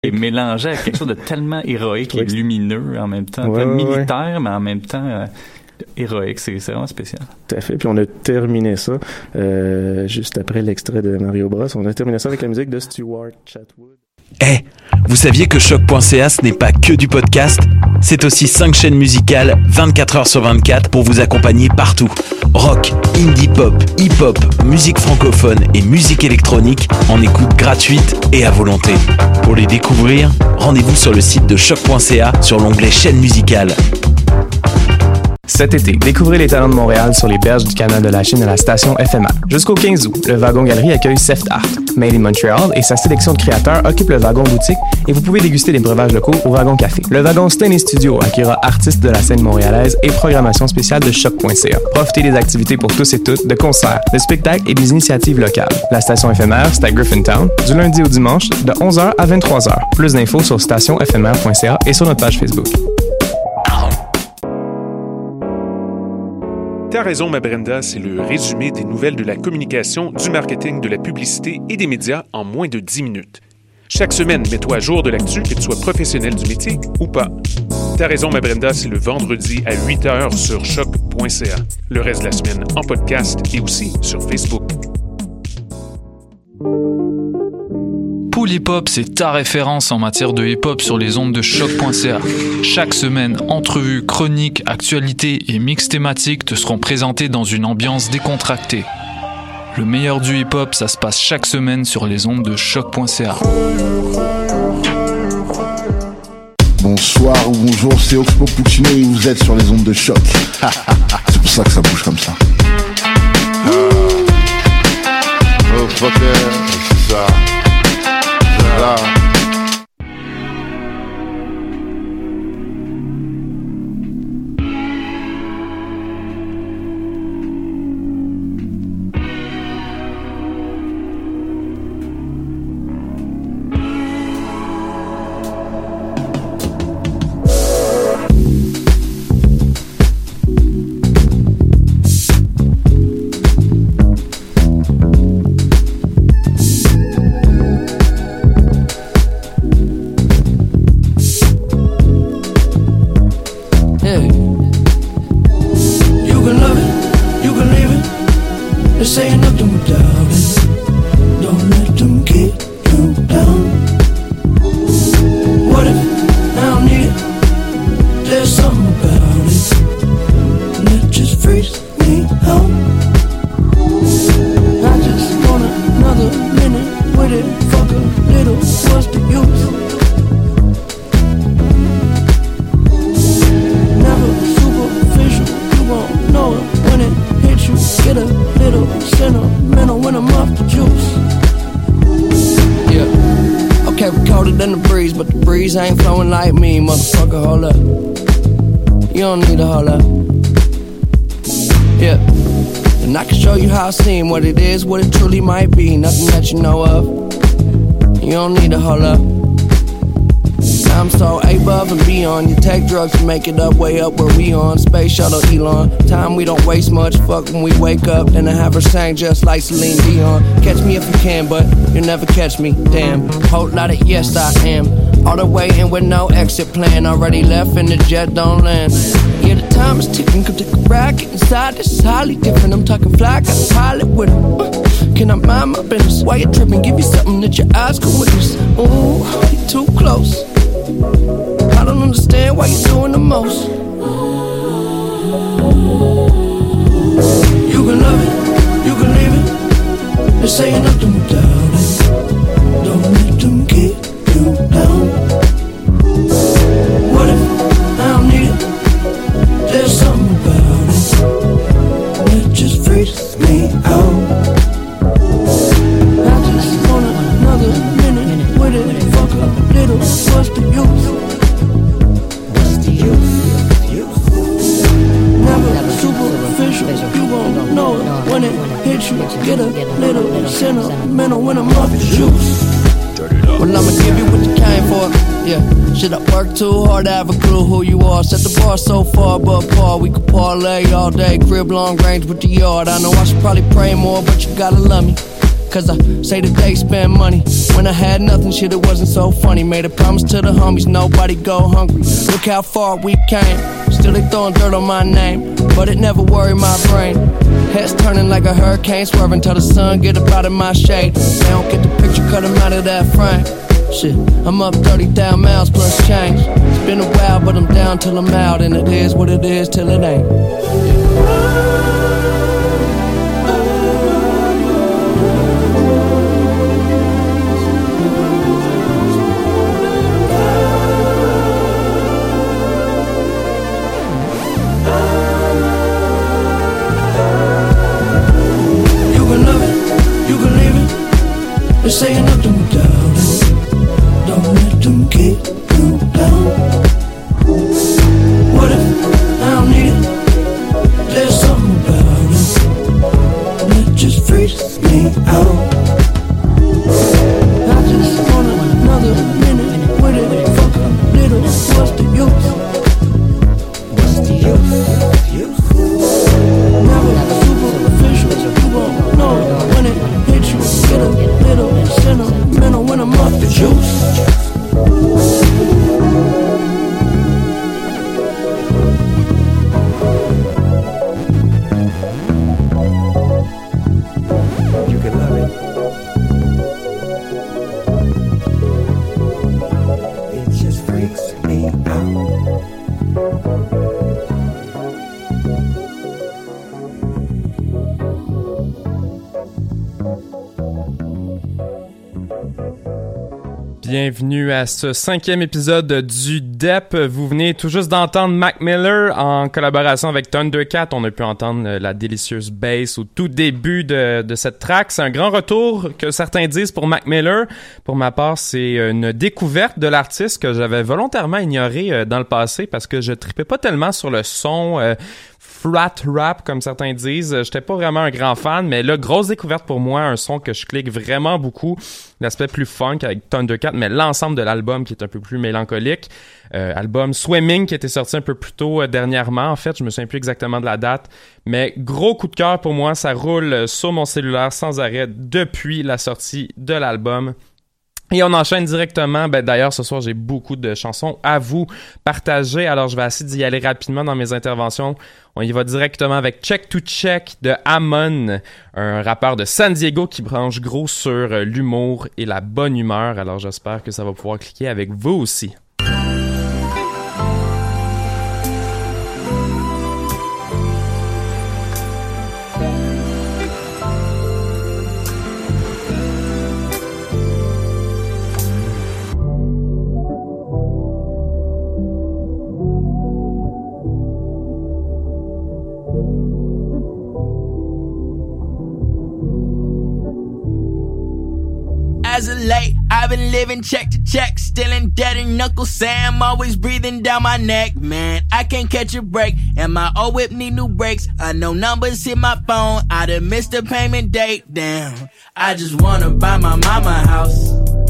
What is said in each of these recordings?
Et mélangé à quelque chose de tellement héroïque et lumineux en même temps, militaire, mais en même temps héroïque, c'est vraiment spécial. Tout à fait. Puis on a terminé ça juste après l'extrait de Mario Bros. On a terminé ça avec la musique de Stuart Chatwood. Vous saviez que Choc.ca, ce n'est pas que du podcast? C'est aussi 5 chaînes musicales, 24 heures sur 24, pour vous accompagner partout. Rock, indie pop, hip-hop, musique francophone et musique électronique en écoute gratuite et à volonté. Pour les découvrir, rendez-vous sur le site de Choc.ca sur l'onglet chaîne musicale. Cet été, découvrez les talents de Montréal sur les berges du canal de la Chine à la station FMR. Jusqu'au 15 août, le Wagon Galerie accueille Seft Art. Made in Montreal et sa sélection de créateurs occupe le Wagon Boutique et vous pouvez déguster des breuvages locaux au Wagon Café. Le Wagon Stain Studio accueillera artistes de la scène montréalaise et programmation spéciale de Choc.ca. Profitez des activités pour tous et toutes, de concerts, de spectacles et des initiatives locales. La station FMR, c'est à Griffintown, du lundi au dimanche, de 11h à 23h. Plus d'infos sur stationfmr.ca et sur notre page Facebook. T'as raison, ma Brenda, c'est le résumé des nouvelles de la communication, du marketing, de la publicité et des médias en moins de 10 minutes. Chaque semaine, mets-toi à jour de l'actu, que tu sois professionnel du métier ou pas. T'as raison, ma Brenda, c'est le vendredi à 8h sur choc.ca. Le reste de la semaine en podcast et aussi sur Facebook. Pool Hip Hop, c'est ta référence en matière de hip-hop sur les ondes de choc.ca. Chaque semaine, entrevues, chroniques, actualités et mix thématiques te seront présentés dans une ambiance décontractée. Le meilleur du hip-hop, ça se passe chaque semaine sur les ondes de choc.ca. Bonsoir ou bonjour, c'est Oxpo Puccino et vous êtes sur les ondes de choc. C'est pour ça que ça bouge comme ça. Oh fucker, c'est ça. Ain't flowing like me, motherfucker, hold up. You don't need to hold up. Yeah. And I can show you how I seem, what it is, what it truly might be. Nothing that you know of. You don't need to hold up. I'm so above and beyond. You take drugs to make it up, way up where we on. Space shuttle Elon. Time we don't waste much. Fuck when we wake up. Then I have her sang just like Celine Dion. Catch me if you can, but you'll never catch me. Damn. Whole lot of yes I am. All the way in with no exit plan. Already left and the jet don't land. Yeah, the time is ticking. Come take a ride, get inside. This is highly different. I'm talking fly, got a pilot with him. Can I mind my business? Why you tripping? Give you something that your eyes can witness. Ooh, you too close. I don't understand why you're doing the most. You can love it, you can leave it. This ain't nothing without it. Don't let them keep you down. What if I don't need it? There's something about it that just freaks me out. I just want another minute with it. Fuck a little, what's the use? What's the use? Never superficial, you won't know it when it hits you. Get a little sentimental when I'm off the juice. Well, I'ma give you what you came for. Yeah, shit, I work too hard to have a clue who you are. Set the bar so far, but Paul, we could parlay all day. Crib long range with the yard. I know I should probably pray more, but you gotta love me. cause I say that they spend money. When I had nothing, shit, it wasn't so funny. Made a promise to the homies, nobody go hungry. Look how far we came. Still they throwing dirt on my name, but it never worried my brain. Heads turning like a hurricane, swerving till the sun get up out of my shade. They don't get the picture, cut them out of that frame. Shit, I'm up 30,000 miles plus change. It's been a while, but I'm down till I'm out, and it is what it is till it ain't. You can love it, you can leave it. They're saying nothing without it. Don't let them keep you down. What if I don't need it? There's something about it that just freaks me out. I just want another minute with it. Fuck a little, what's the use? What's the use? Never superficial, you won't know when it hits you. Get a little sentimental when I'm off the juice. You can love it. It just freaks me out. Bienvenue à ce 5e épisode du DEP. Vous venez tout juste d'entendre Mac Miller en collaboration avec Thundercat. On a pu entendre la délicieuse bass au tout début de cette track. C'est un grand retour que certains disent pour Mac Miller. Pour ma part, c'est une découverte de l'artiste que j'avais volontairement ignoré dans le passé parce que je tripais pas tellement sur le son flat rap, comme certains disent. J'étais pas vraiment un grand fan, mais là, grosse découverte pour moi, un son que je clique vraiment beaucoup. L'aspect plus funk avec Thundercat, mais l'ensemble de l'album qui est un peu plus mélancolique. Album Swimming qui était sorti un peu plus tôt dernièrement. En fait, je me souviens plus exactement de la date, mais gros coup de cœur pour moi. Ça roule sur mon cellulaire sans arrêt depuis la sortie de l'album. Et on enchaîne directement. D'ailleurs, ce soir, j'ai beaucoup de chansons à vous partager. Alors, je vais essayer d'y aller rapidement dans mes interventions. On y va directement avec Check to Check de Amon, un rappeur de San Diego qui branche gros sur l'humour et la bonne humeur. Alors, j'espère que ça va pouvoir cliquer avec vous aussi. As of late, I've been living check to check, still in debt and Uncle Sam always breathing down my neck. Man, I can't catch a break, and my old whip need new brakes. I know numbers hit my phone, I done missed the payment date. Damn, I just wanna buy my mama a house.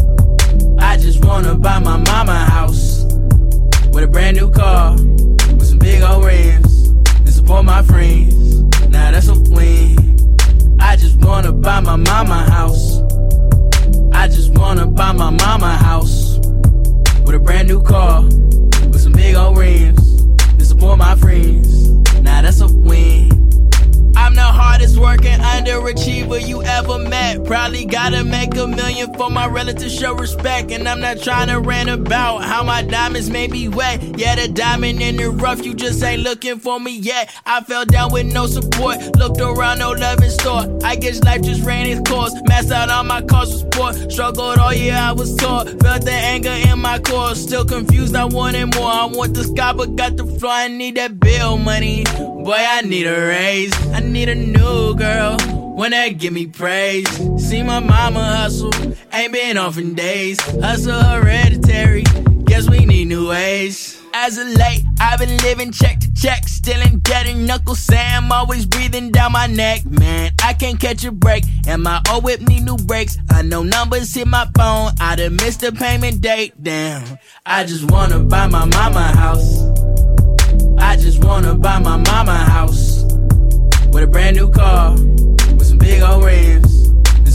I just wanna buy my mama a house with a brand new car, with some big old rims, and support my friends. Now that's a win. I just wanna buy my mama a house. I just wanna buy my mama a house with a brand new car, with some big old rims, to support my friends. Now that's a win. I'm the hardest working underachiever you ever met. Probably gotta make $1 million for my relatives show respect. And I'm not trying to rant about how my diamonds may be wet. Yeah, the diamond in the rough, you just ain't looking for me yet. I fell down with no support, looked around, no love in store. I guess life just ran its course, maxed out all my cars for sport. Struggled all year, I was taught, felt the anger in my core. Still confused, I wanted more. I want the sky but got the floor, I need that bill money. Boy, I need a raise, I need a new girl, one that give me praise. See my mama hustle, ain't been off in days. Hustle hereditary, guess we need new ways. As of late, I've been living check to check, still in debt and Uncle Sam always breathing down my neck. Man, I can't catch a break, and my old whip need new brakes. I know numbers hit my phone, I done missed the payment date. Damn, I just wanna buy my mama a house. I just wanna buy my mama a house with a brand new car, with some big old rims, and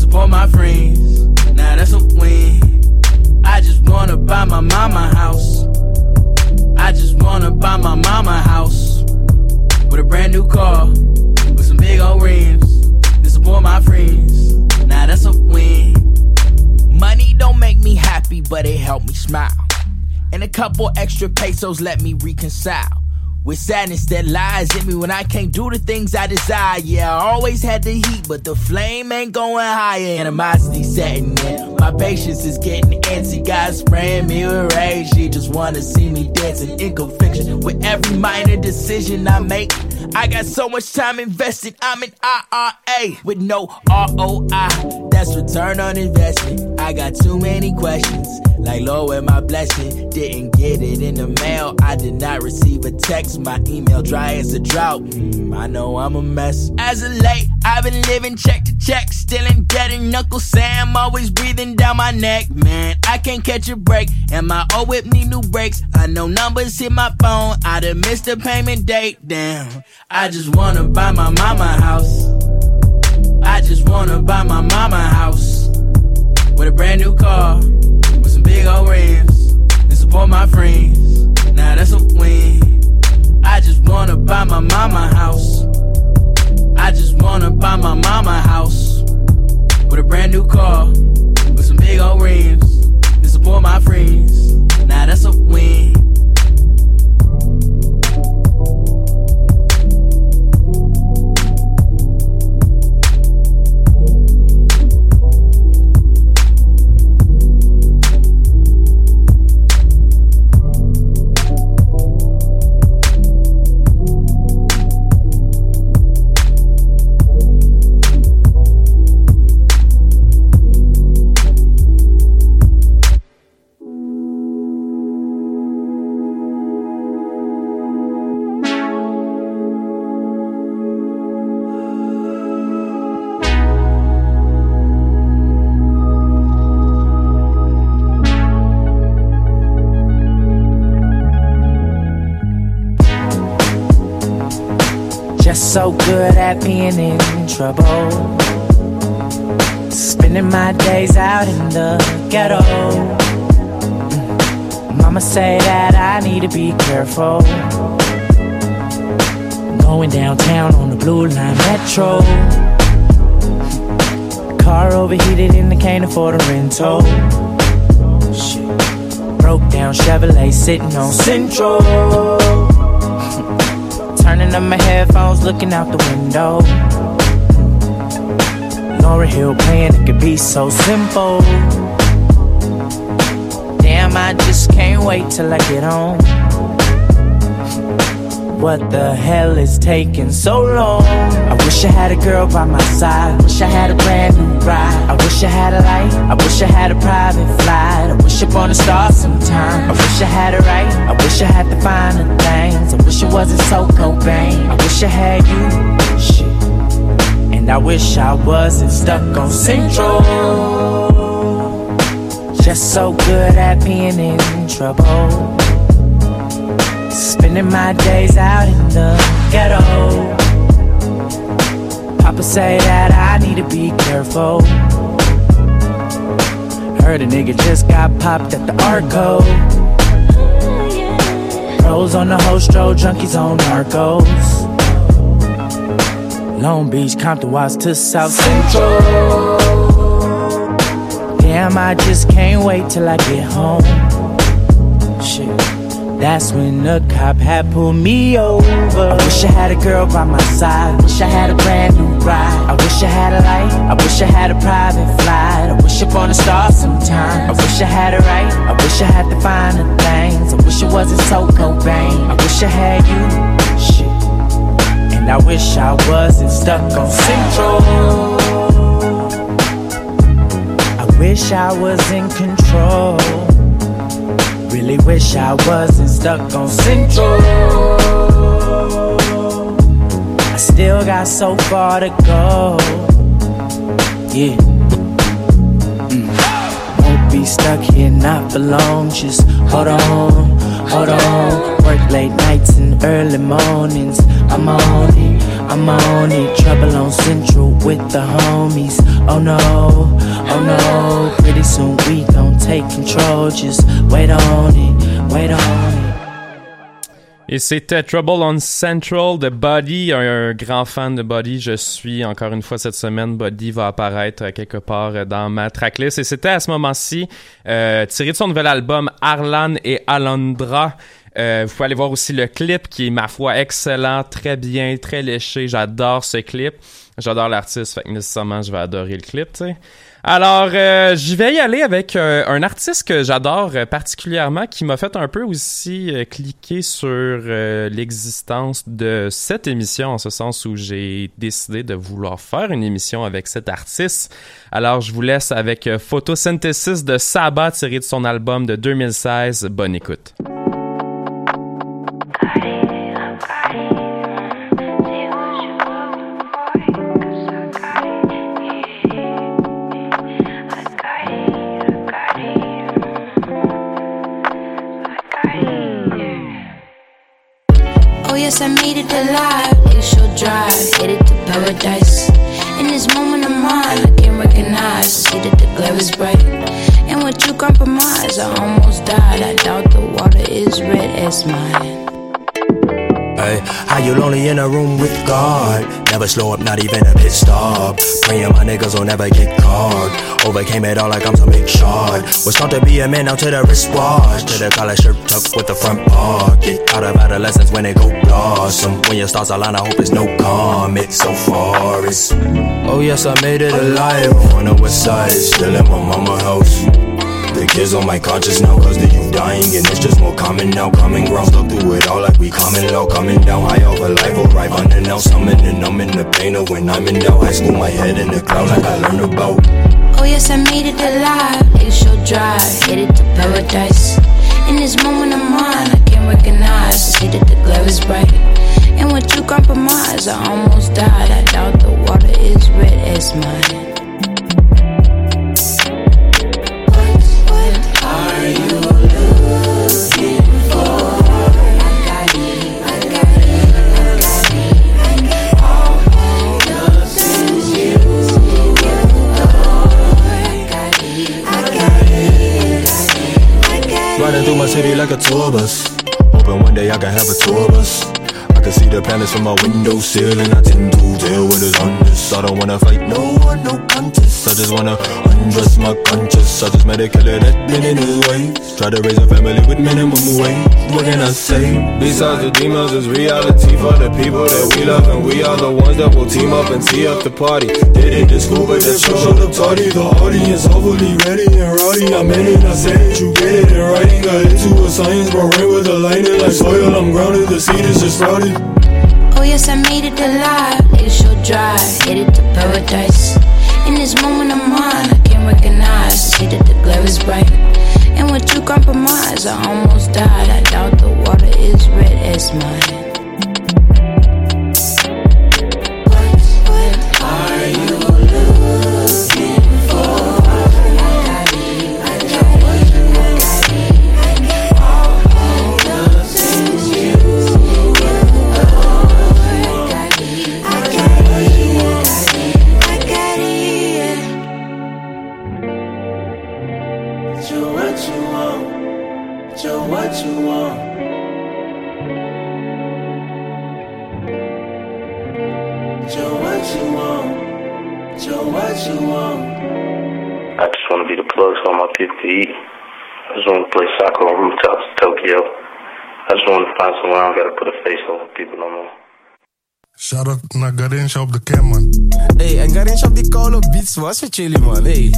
support my friends. Now that's a win. I just wanna buy my mama house. I just wanna buy my mama house with a brand new car, with some big old rims, to support my friends. Now that's a win. Money don't make me happy, but it help me smile. And a couple extra pesos let me reconcile with sadness that lies in me when I can't do the things I desire. Yeah, I always had the heat, but the flame ain't going higher. Animosity setting in, my patience is getting antsy. God spraying me with rage, she just wanna see me dancing in conviction. With every minor decision I make, I got so much time invested, I'm an IRA with no ROI, that's return on investment. I got too many questions, like Lord, where my blessing? Didn't get it in the mail, I did not receive a text, my email dry as a drought, I know I'm a mess. As of late, I've been living check to check, still in debt and Uncle Sam always breathing down my neck. Man, I can't catch a break, and my old whip need new brakes. I know numbers hit my phone, I done missed the payment date, damn. I just wanna buy my mama house. I just wanna buy my mama house with a brand new car, with some big old rims, and support my friends. Now that's a win. I just wanna buy my mama house. I just wanna buy my mama house with a brand new car, with some big old rims, and support my friends. Now that's a win. So good at being in trouble, spending my days out in the ghetto. Mama say that I need to be careful, going downtown on the Blue Line Metro. Car overheated and I can't afford a rental. Shit. Broke down Chevrolet sitting on Central. Turning up my headphones, looking out the window. Lauryn Hill playing, it could be so simple. Damn, I just can't wait till I get home. What the hell is taking so long? I wish I had a girl by my side. Wish I had a brand new ride. I wish I had a light. I wish I had a private flight. I wish upon a star sometime. I wish I had it right. I wish I had the finer things. I wish it wasn't so Cobain. I wish I had you. Shit. And I wish I wasn't stuck on Central. Just so good at being in trouble, spending my days out in the ghetto. Papa say that I need to be careful. Heard a nigga just got popped at the Arco. Pros on the host road, junkies on Narcos. Long Beach, Compton, Watts to South Central. Damn, I just can't wait till I get home. Shit. That's when the cop had pulled me over. I wish I had a girl by my side. Wish I had a brand new ride. I wish I had a light. I wish I had a private flight. I wish upon a star sometime. I wish I had it right. I wish I had the finer things. I wish it wasn't so Cobain. I wish I had you. Shit. And I wish I wasn't stuck on Central. I wish I was in control. Really wish I wasn't stuck on Central. I still got so far to go. Yeah. Won't be stuck here not for long. Just hold on, Hold on, work late nights and early mornings. I'm on it, I'm on it. Trouble on Central with the homies. Oh no, pretty soon we gon' take control. Just wait on it, wait on it. Et c'était Trouble on Central de Buddy, un grand fan de Buddy. Je suis encore une fois cette semaine. Buddy va apparaître quelque part dans ma tracklist. Et c'était à ce moment-ci tiré de son nouvel album Arlan et Alondra. Vous pouvez aller voir aussi le clip qui est, ma foi, excellent, très bien, très léché. J'adore ce clip. J'adore l'artiste, fait que nécessairement je vais adorer le clip, tu sais. Alors, je vais y aller avec un artiste que j'adore particulièrement, qui m'a fait un peu aussi cliquer sur l'existence de cette émission, en ce sens où j'ai décidé de vouloir faire une émission avec cet artiste. Alors, je vous laisse avec Photosynthesis de Saba, tiré de son album de 2016. Bonne écoute. Yes, I made it alive. Glacial drive, headed to paradise. In this moment of mine, I can't recognize. See that the glare is bright. And with you compromise, I almost died. I doubt the water is red as mine. Hey, how you lonely in a room with God? Never slow up, not even a pit stop. Praying my niggas will never get caught. Overcame it all like I'm some big shot. Was taught to be a man out to the wristwatch. To the collar shirt tucked with the front pocket. Out of adolescence when it go blossom. When your stars align, I hope it's no comet. So far it's, oh yes, I made it alive. On the west side, still in my mama house. The kids on my conscience now, cause the youth dying and it's just more common now. Common ground, stuck through it all like we coming low. Coming down high over life, arrive unannounced. Summoning, numbing the pain of when I'm in doubt. High school, my head in the clouds like I learned about. Oh yes, I made it alive. Glacial drive, headed to paradise. In this moment of mine, I can't recognize. See that the glare is bright. And with you compromise, I almost died. I doubt the water is red as mine. Are you looking for? I got it, I got it, I got it. All the things you I got it, I got it, I got it. Riding through my city like a tour bus. Hoping one day I can have a tour bus. I can see the planets from my windowsill, and I tend to deal with it on this. I don't wanna fight no one, no contest. I just wanna undress my conscience. I just met a killer that been in his ways. Try to raise a family with minimum wage. What can I say? Besides the demons, it's reality for the people that we love, and we are the ones that will team up and tee up the party. Did it in school, but the show showed up tardy. The audience hopefully ready and rowdy. I meant it, I said it, you get it in writing. Got into a science, bro, rain with the lightning like soil. I'm grounded, the seed is just sprouted. Oh yes, I made it alive. Glacial drive, headed to paradise. In this moment of mine, I can't recognize. See that the glare is bright. And with you compromise, I almost died. I doubt the water is red as mine. What are you looking for? I got it, I got it, I got it. All the things you what you want. Joe, what you want. Joe, what you want. I just want to be the plug for all my people to eat. I just want to play soccer on rooftops in Tokyo. I just want to find somewhere I don't got to put a face over people no more. Shout-out naar Garincha op de cam, man. Hey, en Garincha op die koude beats was met jullie, man. Hey.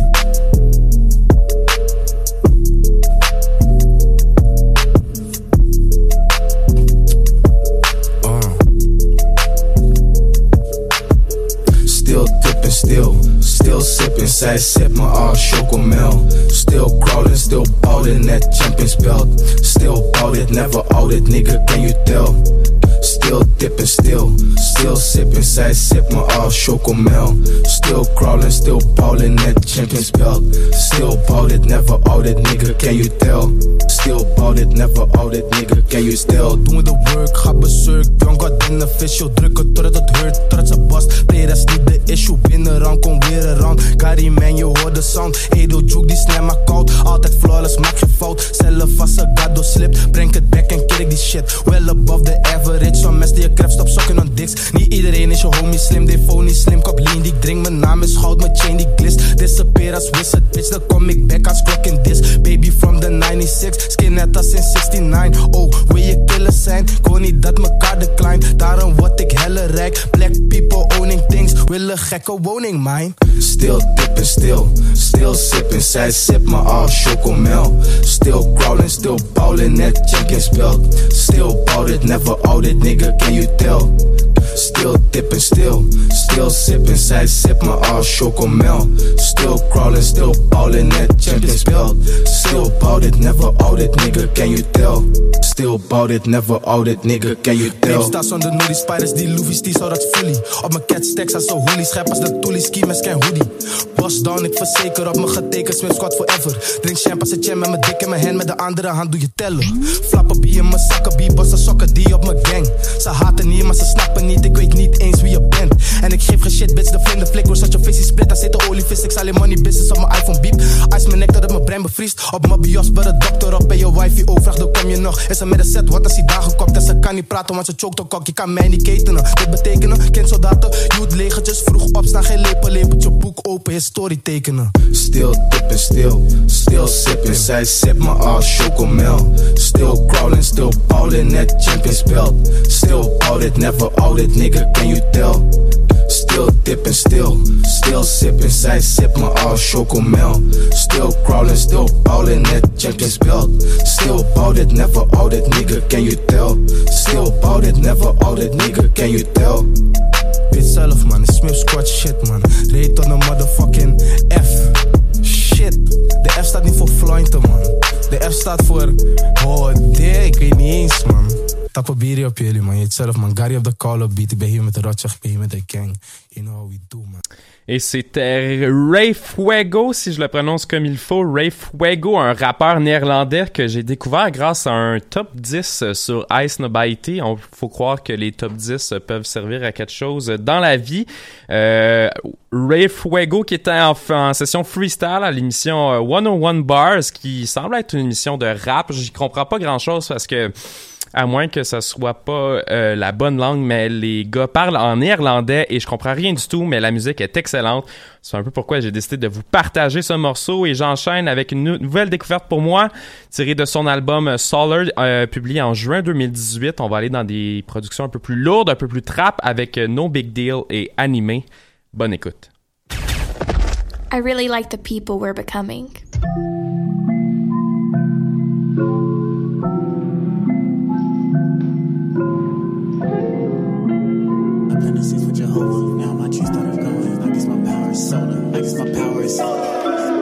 Still sipping, side sip my all chocomel. Still crawling, still ballin' that champions belt. Still bought it, never out it, nigga, can you tell? Still dipping, still sipping, side sip my all chocomel. Still crawling, still ballin' that champions belt. Still bought it, never out it, nigga, can you tell? Still bought it, never out it, nigga, can you still? Doen de work, ga berserk, young god beneficial. Drukken totdat het hurt, totdat ze bast. Play, dat is niet de issue, binnenrand, kom weer een round. Carry man, je hoort de sound. Edo juke, die snap maar koud. Altijd flawless, maak je fout. Zelf als een gado slipt, breng het back en kick die shit. Well above the average, some mensen die je craft stop sokken on dicks. Niet iedereen is je homie slim, de phone niet slim. Kop lean, die ik drink, mijn naam is goud, mijn chain die glist. Disappear als wizard, bitch, dan kom ik back als klok in this. Baby from the 96, skin net als in 69. Oh, wil je killers zijn? Ik wil niet dat mekaar decline. Daarom word ik helle rijk. Black people owning things, willen gekke woning, mine. Still dipping, still sipping. Zij sip maar al chocomel. Still crawling, still bowling, net Champions belt. Still bout it, never out it, nigga, can you tell? Still dipping, still sipping. Zij sip maar al chocomel. Still crawling, still bowling, net Champions belt. Still bout it, never out it, nigga, can you tell? Still bout it, never out it, nigga, can you tell? Neem sta zonder nullie, spiders die Louis, die zou dat fully. Op mijn cat stacks als een hoodie, schep als de toolie, ski met scan hoodie. Boss down, ik verzeker op mijn getekend, Smith squad forever. Drink champagne als een jam met mijn dik in mijn hand, met de andere hand doe je tellen. Flappen bie in mijn zakken, bie, bossen sokken die op mijn gang. Ze haten niet, maar ze snappen niet, ik weet niet eens wie je bent. En ik geef geen shit, bitch, de vlinder flik, zoals je face split, daar zit de olievis. Ik zal money business op mijn iPhone beep. Ice mijn nek dat het mijn brein bevriest. Op mijn bios, bij de dokter op en je wifey overvraagt, dan kom je nog. Is er met een set, wat als hij daar gekopt en ze kan niet praten, want ze choked op kok. Je kan mij niet ketenen, dit betekenen, kind soldaten, youth legertjes, vroeg opstaan, geen lepeltje, boek open, historie tekenen. Still dipping, still sipping. Zij sip maar al chocomel. Still crawling, still bowling, net Champions belt. Still bout it, never out it, nigga, can you tell? Still dipping, still sipping. Zij sip maar al chocomel. Still crawling, still bowling, net Champions belt. Still bout it, never out it, nigga, can you tell? Still bout it, never out it, nigga, can you tell? Weet zelf man, Smith squad shit man. Reed tot een motherfucking F. Shit, de F staat niet voor Floynten man. De F staat voor, oh nee, ik weet niet eens man. Tappen bier op jullie man, je weet zelf man. Gary op de call-up beat, ik ben hier met de Rotjach, ik ben hier met de gang. You know how we do man. Et c'était Ray Fuego, si je le prononce comme il faut. Ray Fuego, un rappeur néerlandais que j'ai découvert grâce à un top 10 sur Ice Nobaity. Il faut croire que les top 10 peuvent servir à quelque chose dans la vie. Ray Fuego qui était en session freestyle à l'émission 101 Bars, qui semble être une émission de rap. J'y comprends pas grand-chose parce que à moins que ça soit pas la bonne langue, mais les gars parlent en néerlandais et je comprends rien du tout, mais la musique est excellente. C'est un peu pourquoi j'ai décidé de vous partager ce morceau et j'enchaîne avec une nouvelle découverte pour moi, tirée de son album Solar, publié en juin 2018. On va aller dans des productions un peu plus lourdes, un peu plus trap avec No Big Deal et Animé. Bonne écoute. I really like the people we're becoming. This is for Jehovah. Now my tree started going. I guess my power is solar. I guess my power is solar.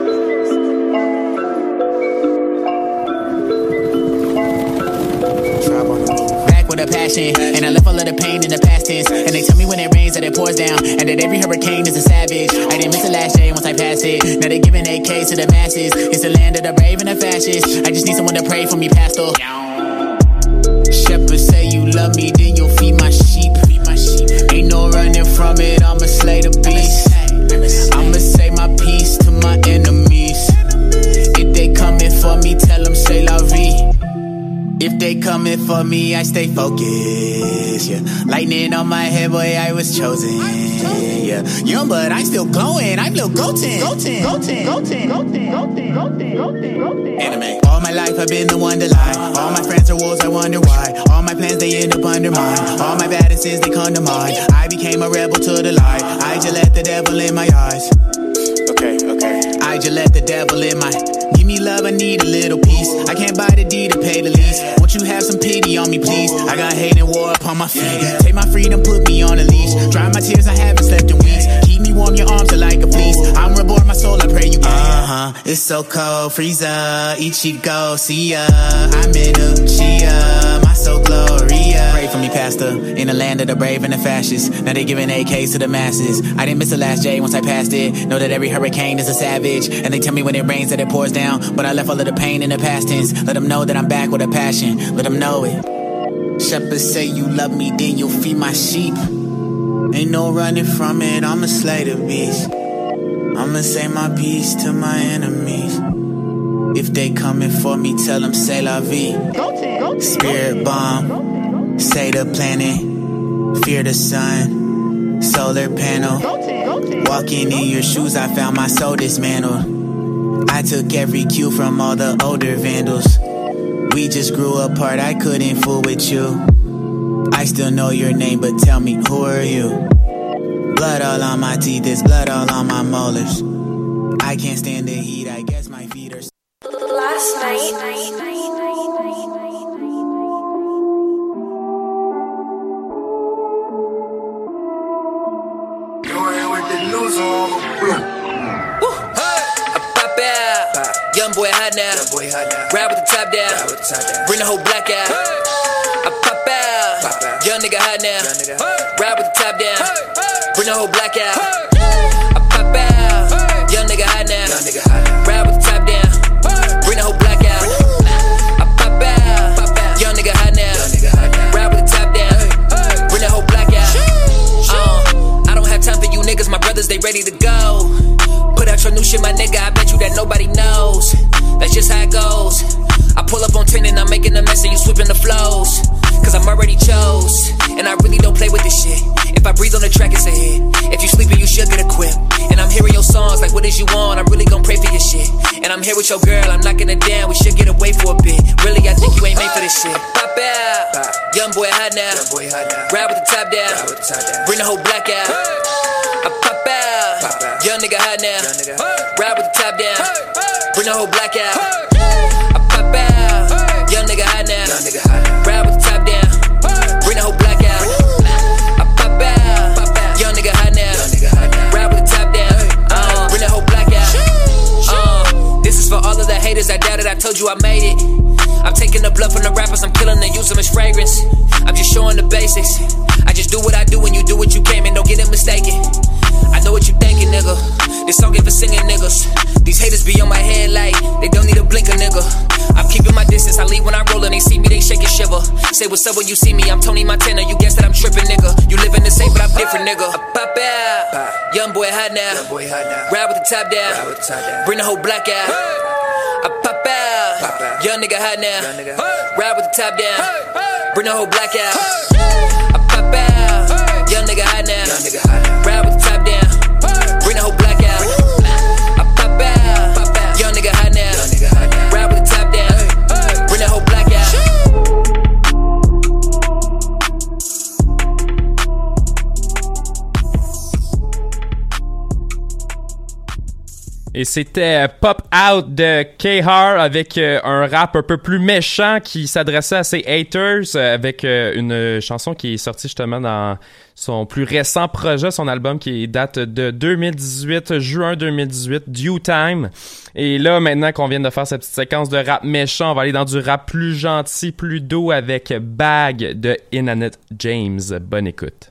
Back with a passion, and I left all of the pain in the past tense. And they tell me when it rains that it pours down, and that every hurricane is a savage. I didn't miss the last day once I passed it. Now they giving AK to the masses. It's the land of the brave and the fascists. I just need someone to pray for me, pastor. Shepherds say you love me, then you'll feed my sheep. Ain't no running from it, I'ma slay the beast. I'ma say my peace to my enemies. If they coming for me, tell them say la vie. If they coming for me, I stay focused, yeah. Lightning on my head, boy, I was chosen, yeah. Young, but I'm still glowing, I'm Lil Goten. Anime. All my life I've been the one to lie. All my friends are wolves, I wonder why. All my plans, they end up undermined. All my badnesses, they come to mind. I became a rebel to the light. I just let the devil in my eyes. Okay. I just let the devil in my... Give me love, I need a little peace. I can't buy the deed to pay the lease. Won't you have some pity on me, please? I got hate and war upon my feet. Take my freedom, put me on a leash. Dry my tears, I haven't slept in weeks. Keep me warm, your arms are like a fleece. I'm reborn, my soul, I pray you can. It's so cold, Frieza, Ichigo, see ya. I'm in Uchiha, my soul, Gloria. Pray for me, Pat. pastor in the land of the brave and the fascists. Now they giving AKs to the masses. I didn't miss the last J once I passed it. Know that every hurricane is a savage, and they tell me when it rains that it pours down. But I left all of the pain in the past tense. Let them know that I'm back with a passion. Let them know it. Shepherds say you love me, then you'll feed my sheep. Ain't no running from it, I'ma slay the beast. I'ma say my peace to my enemies. If they coming for me, tell them c'est la vie. Spirit bomb, say the planet. Fear the sun, solar panel. Walking in your shoes, I found my soul dismantled. I took every cue from all the older vandals. We just grew apart, I couldn't fool with you. I still know your name, but tell me, who are you? Blood all on my teeth, there's blood all on my molars. I can't stand the heat, I guess my feet are... Last night. Young boy hot now. Ride with the top down. Bring the whole black out. I pop out. Young nigga hot now. Ride with the top down. Bring the whole black out. I pop out. Young nigga hot now. Ride with the top down. Bring the whole black out. I pop out. Young nigga hot now. Ride with the top down. Bring the whole black out. I don't have time for you niggas. My brothers, they ready to go. Put out your new shit, my nigga, I bet you that nobody knows. That's just how it goes. I pull up on 10 and I'm making a mess and you sweeping the flows. Cause I'm already chose, and I really don't play with this shit. If I breathe on the track, it's a hit. If you sleeping, you should get equipped. And I'm hearing your songs like, what is you on? I'm really gon' pray for your shit. And I'm here with your girl, I'm knocking it down. We should get away for a bit. Really, I think you ain't made for this shit. Pop out, young boy hot now. Ride with the top down. Bring the whole black out. I pop out, young nigga hot now. Ride with the top down. Bring the whole black out. I pop out, young nigga hot now. Ride with the top down. Bring the whole black out. I pop out, young nigga hot now. Ride with the top down. Bring the whole black out. This is for all of the haters. I doubted, I told you I made it. I'm taking the blood from the rappers, I'm killing and using as fragrance. I'm just showing the basics. I just do what I do and you do what you can, man, don't get it mistaken. I know what you thinking, nigga. This song ain't for singing niggas. These haters be on my head like they don't need a blinker, nigga. I'm keeping my distance, I leave when I roll and they see me, they shake and shiver. Say what's up when you see me, I'm Tony Montana. You guess that I'm tripping, nigga. You living the same, but I'm different, nigga. I pop out, young boy hot now. Ride with the top down. Bring the whole black out. I pop out, young nigga hot now. Ride with the top down. Bring the whole black out. I pop out, young nigga hot now. Ride with the top down. Bring the whole black out. I pop out, young nigga hot now. Ride with the top down. Bring the whole black out. Et c'était Pop Out de K-Har avec un rap un peu plus méchant qui s'adressait à ses haters avec une chanson qui est sortie justement dans son plus récent projet, son album qui date de 2018, juin 2018, Due Time. Et là, maintenant qu'on vient de faire cette petite séquence de rap méchant, on va aller dans du rap plus gentil, plus doux avec Bag de Inanit James. Bonne écoute.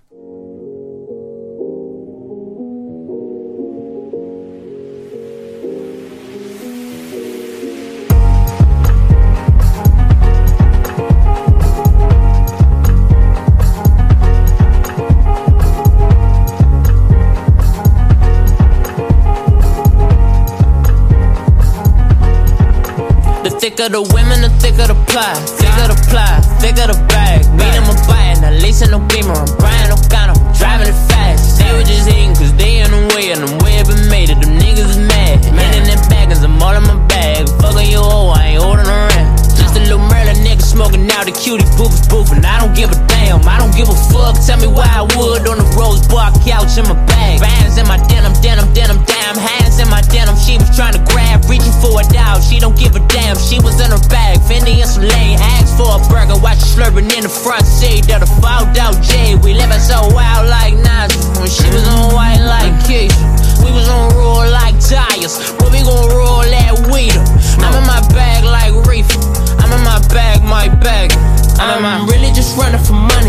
Thicker the women, the thicker the pie. Thicker the ply, thicker the bag. Meet them a buy, now Lisa no beamer. I'm Brian O'Connor, driving it fast. They were just hating cause they in the way, and I'm way up and made it. Them niggas is mad. Man in them baggins, I'm all in my bag. Fucking you hoe, I ain't holding around. Just a little Merlin nigga smoking out the cutie boof is boofing. I don't give a damn, I don't give a fuck. Tell me why I would on the rose bar couch in my bag. Bands in my denim, denim, denim, damn. Hands in my denim, she was trying to grab, reaching for a dog. She don't give a damn, she was in her bag. Fendi and some lane, asked for a burger. Watch her slurping in the front seat of the fouled out J. We living so wild like Nas. When she was on white like Keisha, we was on roll like tires. But we gon' roll that weed up. I'm in my bag like reefer. I'm in my bag, my bag. I'm really just running for money. I'm love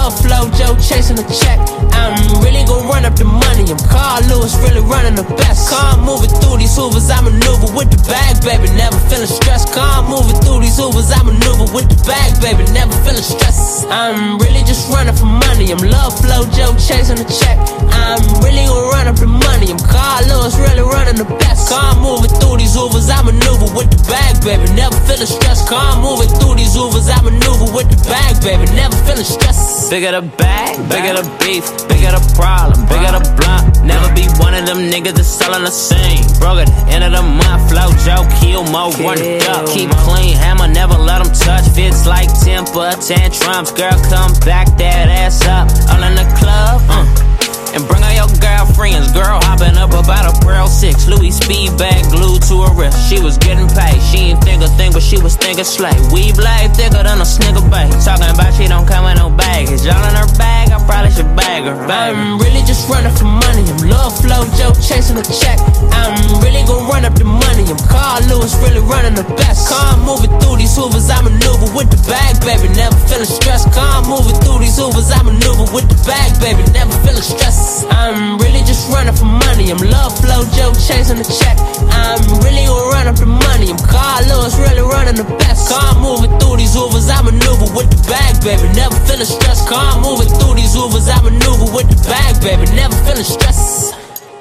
love flow, Joe chasing the check. I'm really gon' run up the money. I'm Carl Lewis, really running the best. Calm moving through these hoovers, I maneuver with the bag, baby. Never feeling stressed. Calm moving through these hoovers, I maneuver with the bag, baby. Never feeling stressed. I'm really just running for money. I'm love flow, Joe chasing the check. I'm really gon' run up the money. I'm Carl Lewis, really running the best. Calm moving through these hoovers, I maneuver with the bag, baby. Never feeling stressed. Calm moving through these hoovers, I maneuver with the bag, baby. Never feeling stressed. Bigger the bag, bigger the beef, bigger the problem, bigger the blunt. Never be one of them niggas that's selling the same. Broke at the end of the month, flow, Joe, kill, mo, run it up. Keep clean, hammer, never let them touch. Fits like temper, tantrums. Girl, come back that ass up. All in the club, and bring all your girlfriends. Girl hopping up about a Pearl 6. Louis speed bag glued to her wrist. She was getting paid. She ain't think a thing, but she was thinking slay. We blade thicker than a snigger bag. Talking about she don't come with no baggage. All in her bag, I probably should bag her. I'm really just running for money. I'm love flow, Joe chasing the check. I'm really gon' run up the money. I'm Carl Lewis, really running the best. Calm moving through these hoovers, I maneuver with the bag, baby. Never feeling stressed. Calm moving through these hoovers, I maneuver with the bag, baby. Never feeling stressed. I'm really just running for money. I'm love flow, Joe chasing the check. I'm really gon' run up the money. I'm Carl Lewis, really running the best. Calm moving through these hoovers, I maneuver with the bag, baby. Never feeling stressed. Calm moving through these hoovers, I maneuver with the bag, baby. Never feeling stressed.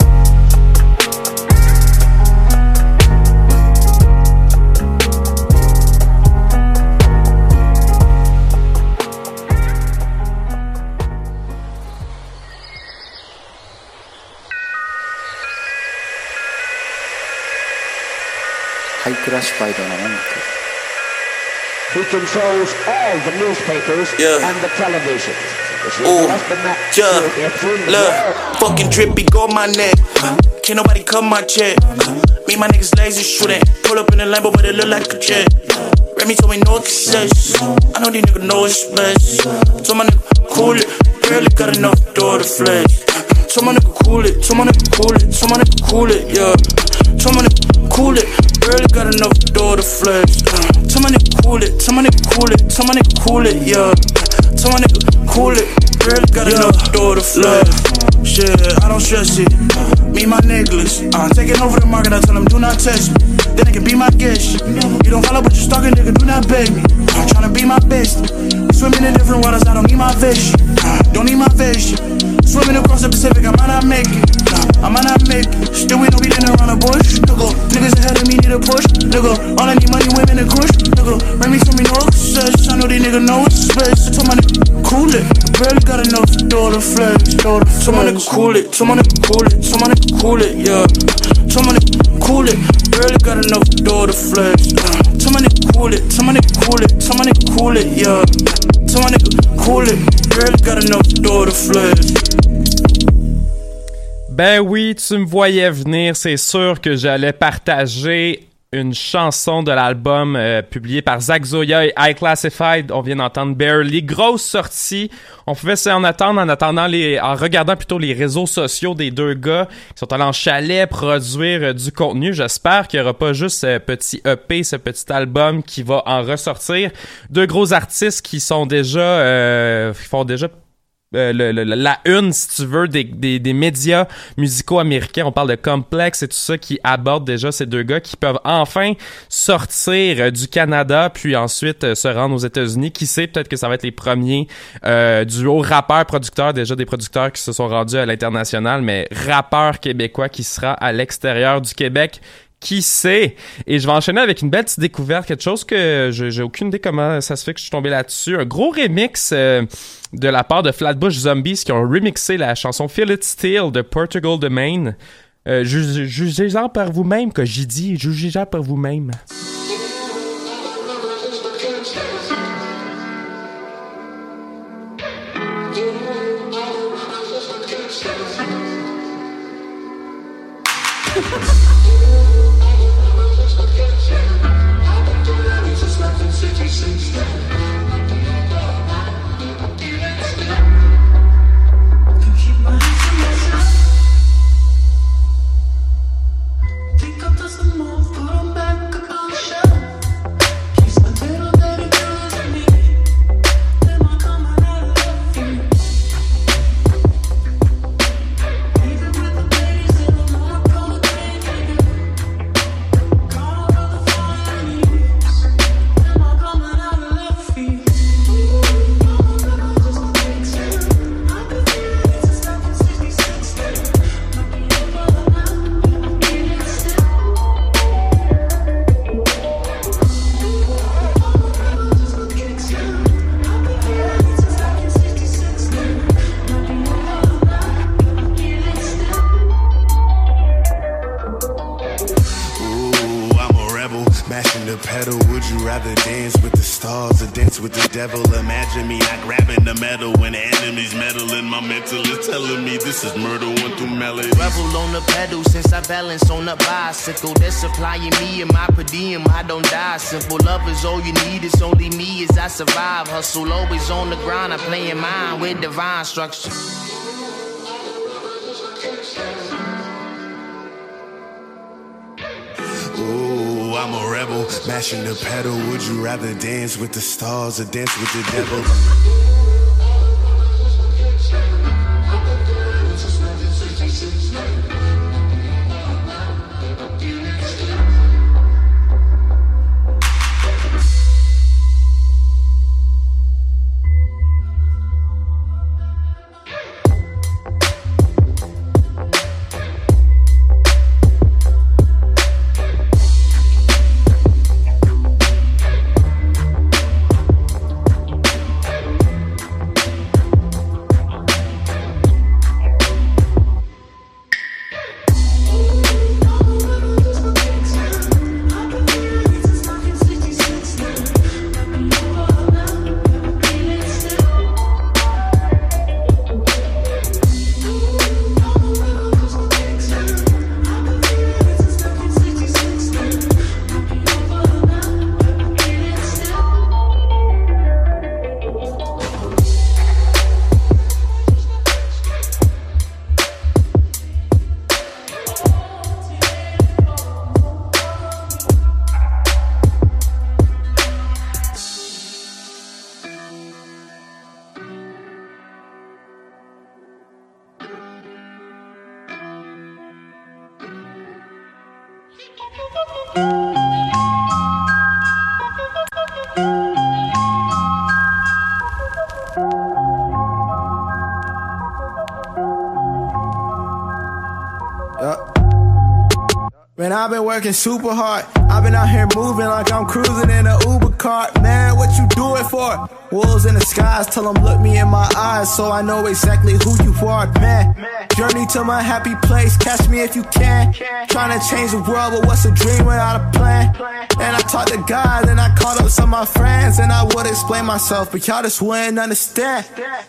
Who controls all the newspapers and the television. Ooh, look, fucking drippy, go my neck. Can't nobody cut my check. Me and my niggas lazy shooting. Pull up in a Lambo, but it look like a jet. Remy told me no success. I know these niggas know it's best. Told my nigga cool it. Barely got enough to do the flex. Told my nigga cool it. Told my nigga cool it. Told my nigga cool it, yeah. Told my nigga cool it. Barely got enough to do the flex. Told my nigga cool it. Told my nigga cool it. Told my nigga cool it, yeah. Told my nigga cool it. Barely got enough to do the flex. Shit, I don't stress it. Me and my niggas, taking over the market. I tell them do not test me. Then they can be my guest. You don't follow, but you stalking, nigga. Do not beg me. I'm tryna be my best. Swimming in different waters. I don't need my fish. Don't need my fish. Swimming across the Pacific. I might not make it. I might not make it. Still we know we didn't run a bush. Nigga, niggas ahead of me need a push. Nigga, all I need money, women, and kush. Nigga, Remy told me no success. I know these niggas know it's space. I told my nigga cool it. Barely got enough to do the flex. Told my nigga cool it. Told my nigga cool it. Told my nigga cool it, yeah. Told my nigga cool it. Barely got enough to do the flex. Told my nigga cool it. Told my nigga cool it. Told my nigga cool it, yeah. Told my nigga cool it. Barely got enough to do the flex. Ben oui, tu me voyais venir, c'est sûr que j'allais partager une chanson de l'album publié par Zach Zoya et High Classified. On vient d'entendre Barely. Grosse sortie. On pouvait s'en attendre en regardant plutôt les réseaux sociaux des deux gars qui sont allés en chalet produire du contenu. J'espère qu'il n'y aura pas juste ce petit EP, ce petit album qui va en ressortir. Deux gros artistes qui sont déjà, qui font déjà la une, si tu veux, des médias musicaux américains. On parle de Complex et tout ça qui aborde déjà ces deux gars qui peuvent enfin sortir du Canada puis ensuite se rendre aux États-Unis. Qui sait, peut-être que ça va être les premiers duos rappeurs-producteurs, déjà des producteurs qui se sont rendus à l'international, mais rappeurs québécois qui sera à l'extérieur du Québec. Qui sait? Et je vais enchaîner avec une belle petite découverte, quelque chose que j'ai aucune idée comment ça se fait que je suis tombé là-dessus. Un gros remix de la part de Flatbush Zombies qui ont remixé la chanson Feel It Still de Portugal the Main. Jugez-en par vous-même, que j'ai dit. Jugez-en par vous-même. stars or dance with the devil. Imagine me not grabbing the medal when the enemy's meddling. My mental is telling me this is murder one through melody. Rebel on the pedal since I balance on the bicycle. They're supplying me and my per diem. I don't die. Simple love is all you need. It's only me as I survive. Hustle always on the grind. I'm playing mine with divine structure. Ooh, I'm a rebel, mashing the pedal. Would you rather dance with the stars or dance with the devil? Man, I've been working super hard. I've been out here moving like I'm cruising in an Uber cart. Man, what you do it for? Wolves in the skies, tell them look me in my eyes so I know exactly who you are. Man, journey to my happy place, catch me if you can. Trying to change the world, but what's a dream without a plan? And I talked to God, and I called up some of my friends, and I would explain myself, but y'all just wouldn't understand.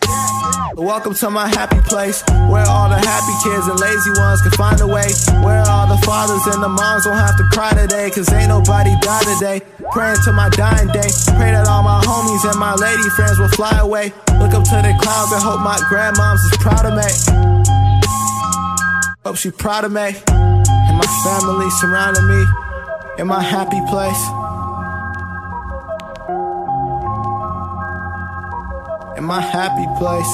Welcome to my happy place, where all the happy kids and lazy ones can find a way. Where all the fathers and the moms don't have to cry today, cause ain't nobody die today. Praying to my dying day, pray that all my homies and my lady friends will fly away. Look up to the clouds and hope my grandmoms is proud of me. Hope she proud of me. And my family surrounding me in my happy place. In my happy place.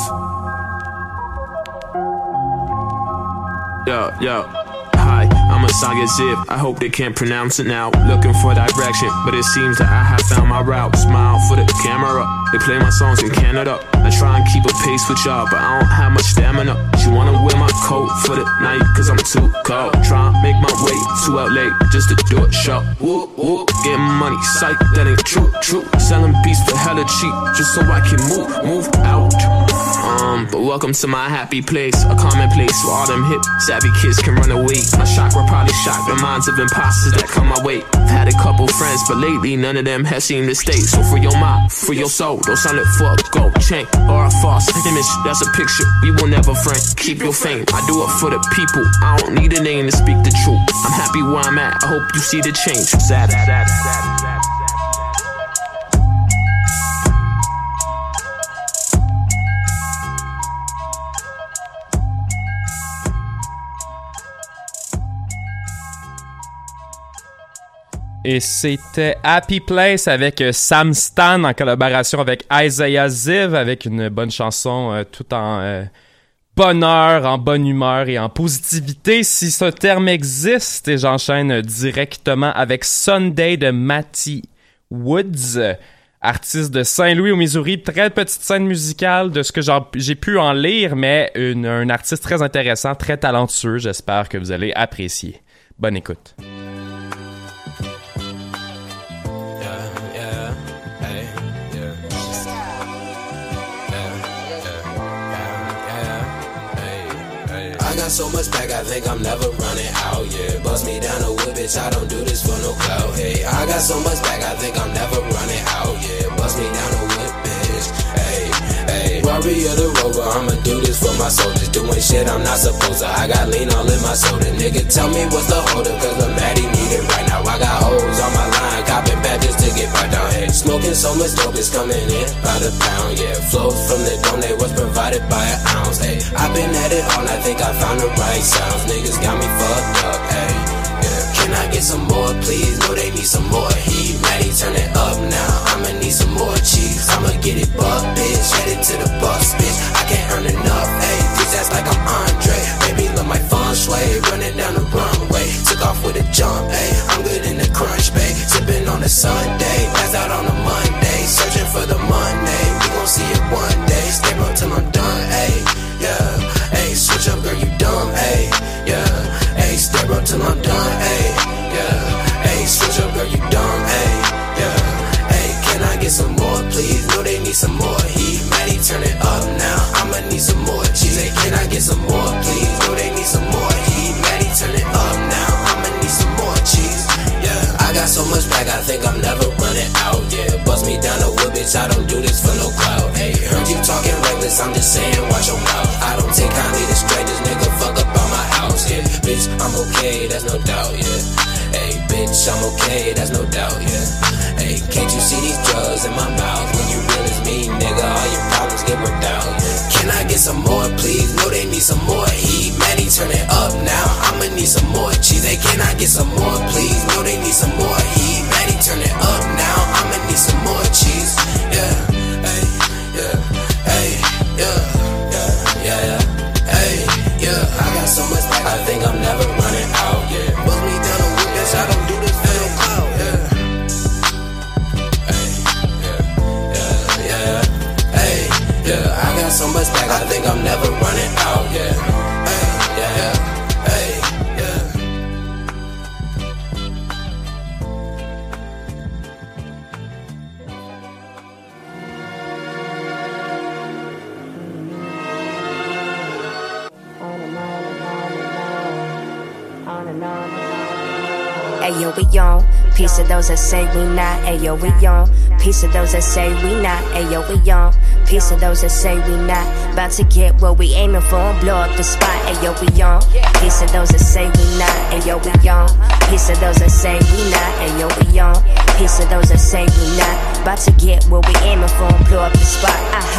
Yo, yo. Hi, I'm a Saga Zip. I hope they can't pronounce it now. Looking for direction, but it seems that I have found my route. Smile for the camera. They play my songs in Canada. I try and keep a pace with y'all, but I don't have much stamina. She wanna wear my coat for the night, cause I'm too cold. Try and make my way to LA just to do a show. Whoop, whoop, getting money, psych, that ain't true, true. Selling beats for hella cheap, just so I can move out. But welcome to my happy place, a common place where all them hip, savvy kids can run away. My chakra probably shocked the minds of imposters that come my way. I've had a couple friends, but lately none of them has seemed to stay. So for your mind, for your soul, don't sign it for a gold chain or a false image. That's a picture we will never frame. Keep your fame, I do it for the people. I don't need a name to speak the truth. I'm happy where I'm at, I hope you see the change. Sad. Et c'était Happy Place avec Sam Stan en collaboration avec Isaiah Ziv, avec une bonne chanson tout en bonheur, en bonne humeur et en positivité, si ce terme existe. Et j'enchaîne directement avec Sunday de Matty Woods, artiste de Saint-Louis au Missouri. Très petite scène musicale de ce que j'ai pu en lire, mais un artiste très intéressant, très talentueux. J'espère que vous allez apprécier. Bonne écoute. I got so much back, I think I'm never running out, yeah. Bust me down a whip, bitch, I don't do this for no clout, hey. I got so much back, I think I'm never running out, yeah. Ferrari or the Rover, I'ma do this for my soldiers. Doing shit I'm not supposed to. I got lean all in my soda. Nigga, tell me what's the holder, cause the Maddie need it right now. I got hoes on my line, copping badges to get right down here. Smoking so much dope, it's coming in by the pound, yeah. Flows from the donate was provided by an ounce, hey. I've been at it all, I think I found the right sounds. Niggas got me fucked up, hey. Can I get some more, please? No, they need some more heat. Maddie, turn it up now. I'ma need some more cheese. I'ma get it buck, bitch. Headed to the bus, bitch. I can't earn enough, ayy. Please act like I'm Andre. Baby, love my fun sway. Running down the runway. Took off with a jump, ayy. I'm good in the crunch, babe. Sipping on a Sunday. Pass out on a Monday. Searching for the Monday. We gon' see it one day. Stay up till I'm done, ayy. Yeah, ayy. Switch up, girl, you dumb, ayy. Yeah, ayy. Stay up till I'm done, ayy. Yeah, ayy. Switch up, girl, you dumb, ayy. Yeah, ayy. Can I get some more, please? No, they need some more heat. Maddie, turn it up now. I'ma need some more cheese. Hey, can I get some more, please? No, they need some more heat. Maddie, turn it up now. I'ma need some more cheese. Yeah, I got so much back, I think I'm never running out. Yeah, bust me down the wood, bitch. I don't do this for no clout. Hey, heard you talking reckless. I'm just saying, watch your mouth. I don't take kindly to strangers, nigga. Fuck up on my house. Yeah, bitch, I'm okay. That's no doubt. Yeah. Hey, bitch, I'm okay, that's no doubt, yeah. Hey, can't you see these drugs in my mouth? When you real as me, nigga, all your problems get worked out, yeah. Can I get some more, please? No, they need some more heat. Maddie, turn it up now. I'ma need some more cheese. Hey, can I get some more, please? No, they need some more heat. Maddie, turn it up now. I'ma need some more cheese. Yeah, hey, yeah, hey, yeah, yeah, yeah, yeah. Hey, yeah, I got so much back, I think I'm never running out, yeah. Bust me down the wood, bitch, I don't do this for no clout, yeah. Hey, yeah, yeah, yeah, hey, yeah, I got so much back, I think I'm never running out, yeah. Hey, yeah, yeah, hey, yeah. Ayo, we on. Piece of those that say we not. Ayo, we on. Piece of those that say we not. Ayo, we on. Piece of those that say we not. About to get what we aiming for and blow up the spot. Ayo, we on. Piece of those that say we not. Ayo, we on. Piece of those that say we not. Ayo, we on. Piece of those that say we not. About to get what we aiming for and blow up the spot.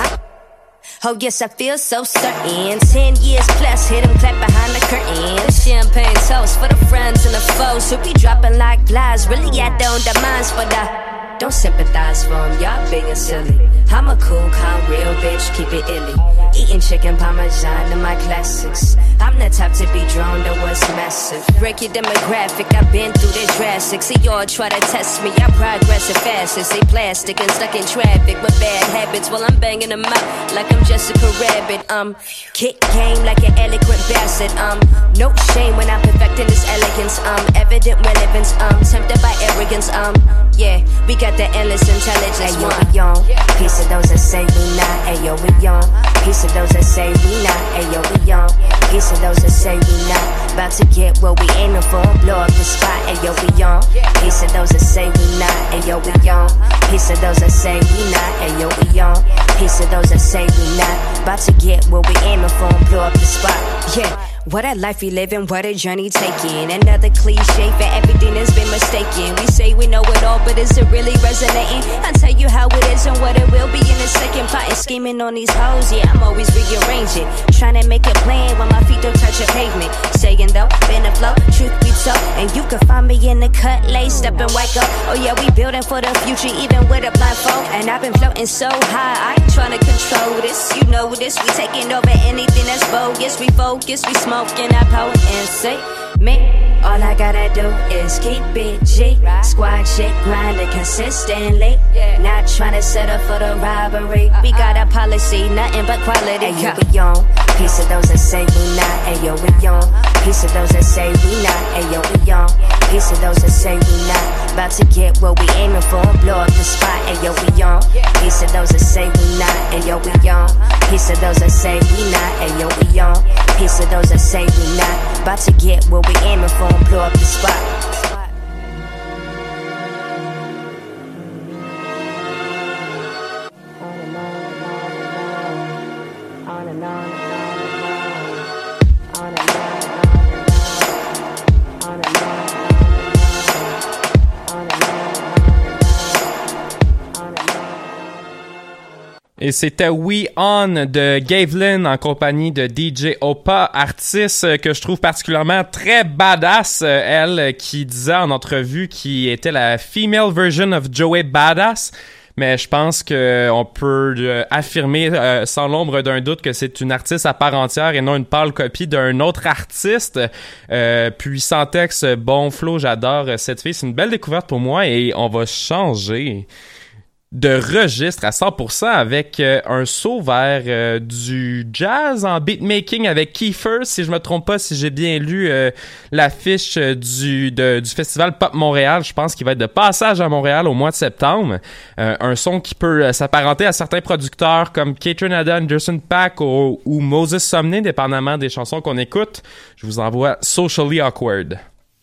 Oh yes, I feel so certain. 10 years plus, hit 'em clap behind the curtain. Champagne toast for the friends and the foes who be dropping like flies. Really, I don't the minds, but I don't sympathize for 'em. Y'all being silly. I'm a cool, calm, real bitch, keep it illy. Eating chicken parmesan to my classics. I'm the type to be drawn to what's massive. Break your demographic, I've been through the drastic. See y'all try to test me, I progress as fast as they plastic and stuck in traffic with bad habits while I'm banging them out like I'm Jessica Rabbit. Kick game like an eloquent bastard. No shame when I'm perfecting this elegance. Evident relevance. Tempted by arrogance. Yeah, we got the endless intelligence. Ayo, we on. Piece of those that say we not. Ayo, we on. Piece of those that say we not. Ayo, we on. Piece of those that say we not. About to get what we aiming for and blow up the spot. Ayo, we on. Piece of those that say we not. Ayo, we on. Piece of those that say we not. Ayo, we on. Piece of those that say we not. About to get what we aiming for and blow up the spot. Yeah. What a life we living, what a journey taking. Another cliche for everything that's been mistaken. We say we know it all, but is it really resonating? I'll tell you how it is and what it will be in a second. Plotting, scheming on these hoes, yeah, I'm always rearranging. Trying to make a plan when my feet don't touch a pavement. Saying though, been a flow, truth be told. And you can find me in the cut, laced up and white gold. Oh yeah, we building for the future, even with a blindfold. And I've been floating so high, I ain't trying to control this. You know this, we taking over anything that's bogus. We focus, we smoke. Smoking that power and say me. All I gotta do is keep it G. Squad shit grinding consistently. Not trying to set up for the robbery. We got a policy, nothing but quality. Ayo, we on. Piece of those that say we not. Ayo, we on. Piece of those that say we not. Ayo, we on. Piece of those that say we not. About to get what we aiming for and blow up the spot. Ayo, we on. Piece of those that say we not. Ayo, we on. Piece of those that say we not. Ayo, we on. Piece of those that say we not. About to get what we aiming for and blow up the spot. Et c'était We On de Gavelin en compagnie de DJ Opa, artiste que je trouve particulièrement très badass. Elle qui disait en entrevue qu'il était la female version of Joey Badass. Mais je pense qu'on peut affirmer sans l'ombre d'un doute que c'est une artiste à part entière et non une pâle copie d'un autre artiste. Puissant texte, bon flow, j'adore cette fille. C'est une belle découverte pour moi et on va changer de registre à 100% avec un saut vers du jazz en beatmaking avec Kiefer, si je me trompe pas, si j'ai bien lu l'affiche du festival Pop Montréal. Je pense qu'il va être de passage à Montréal au mois de septembre. Un son qui peut s'apparenter à certains producteurs comme Catherine Ada, Anderson .Paak ou Moses Sumney, dépendamment des chansons qu'on écoute. Je vous envoie Socially Awkward.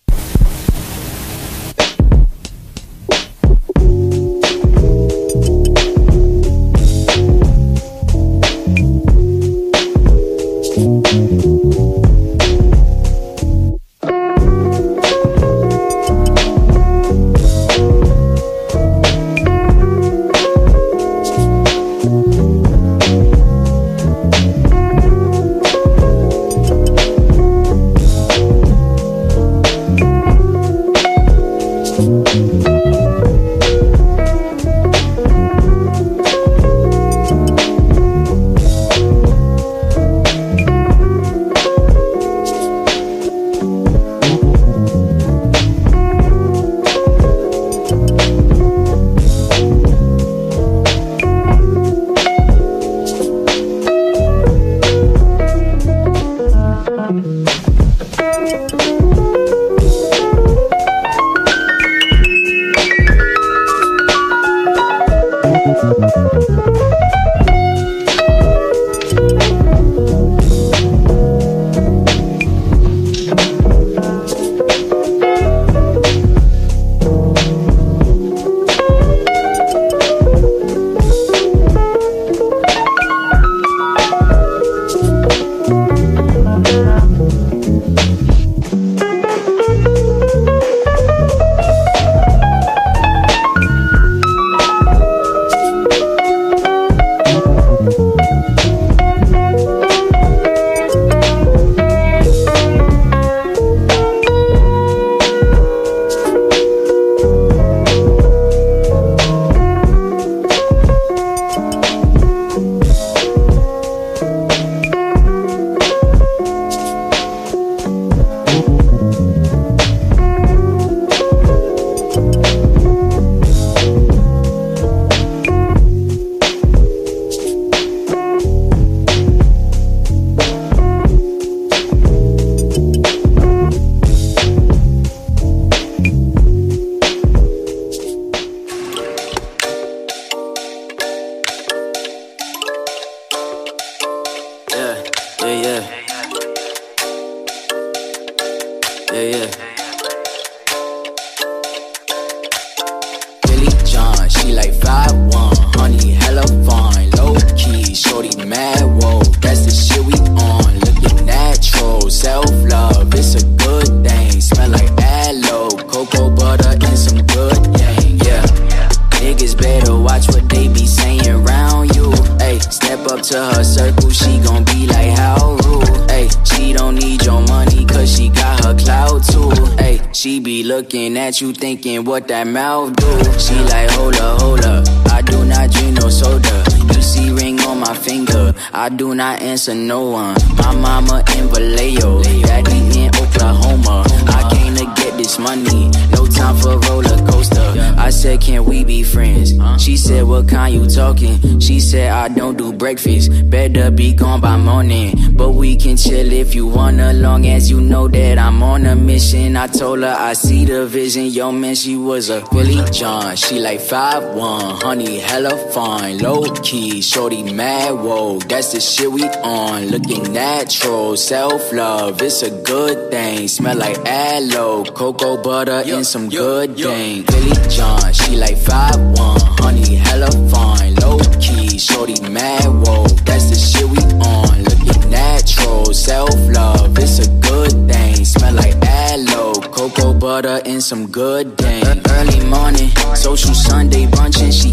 You thinking what that mouth do? She like, hold up, I do not drink no soda. You see ring on my finger, I do not answer no one. My mama in Vallejo, daddy in Oklahoma. I came to get this money, no time for roller coaster. I said, can we be friends? She said, what kind you talking? She said, I don't do breakfast, better be gone by morning. But we can chill if you wanna, long as you know that I'm on a mission. I told her I see the vision, yo man, she was a Billy John. She like 5'1", honey, hella fine, low key, shorty mad, whoa, that's the shit we on. Looking natural, self-love, it's a good thing. Smell like aloe, cocoa butter, and some good thing. Billy John, she like 5'1", honey, hella fine, low key, shorty mad, whoa, that's the shit we on. Looking natural, self-love, it's a good thing. Smell like aloe, cocoa butter, and some good thing. Early morning, social Sunday brunching, she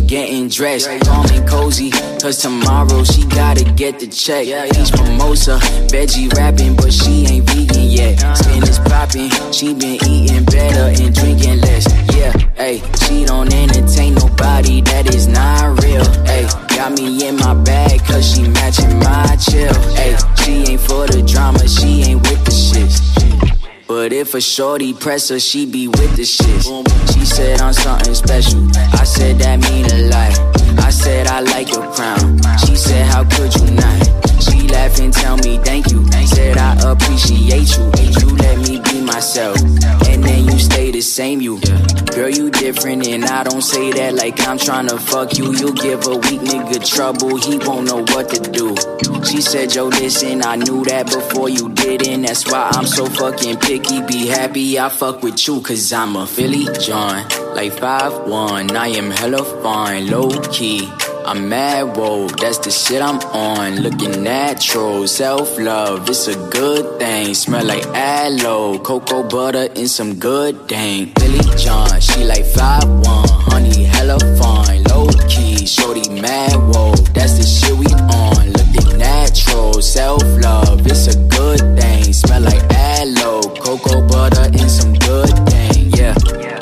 getting dressed. Calm and cozy, cause tomorrow she gotta get the check. Peach mimosa, veggie rapping, but she ain't vegan yet. Skin is popping, she been eating better and drinking less. Yeah, ayy, she don't entertain nobody that is not real. Ayy, got me in my bag cause she matching my chill. Ayy, she ain't for the drama, she ain't with the shits. But if a shorty press her, she be with the shit. She said I'm something special. I said that mean a lot. I said I like your crown. She said how could you not? She laugh and tell me thank you. Said I appreciate you. You let me be myself, and then you stay the same you. Girl, you different and I don't say that like I'm tryna fuck you. You give a weak nigga trouble, he won't know what to do. She said, yo, listen, I knew that before you didn't. That's why I'm so fucking picky. Be happy I fuck with you, cause I'm a Philly John. Like 5'1", I am hella fine, low-key. I'm mad, whoa, that's the shit I'm on. Looking natural, self-love, it's a good thing. Smell like aloe, cocoa butter, and some good dang. Billy John, she like 5'1", honey, hella fine, low-key. Shorty mad, whoa, that's the shit we on. Looking natural, self-love, it's a good thing. Smell like aloe, cocoa butter, and some good dang, yeah.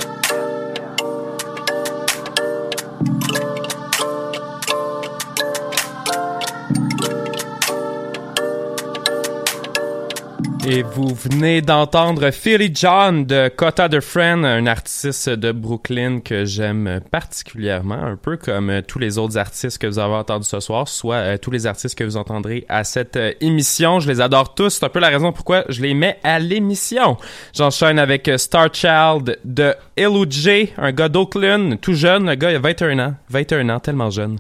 Et vous venez d'entendre Philly John de Cotta the Friend, un artiste de Brooklyn que j'aime particulièrement, un peu comme tous les autres artistes que vous avez entendus ce soir, soit tous les artistes que vous entendrez à cette émission. Je les adore tous, c'est un peu la raison pourquoi je les mets à l'émission. J'enchaîne avec Star Child de L.O.J., un gars d'Oakland, tout jeune, le gars il a 21 ans, tellement jeune.